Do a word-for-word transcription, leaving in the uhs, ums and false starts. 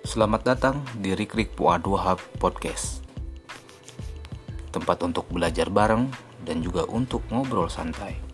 Selamat datang di Rikrik Fuad Wahab Podcast. Tempat untuk belajar bareng dan juga untuk ngobrol santai.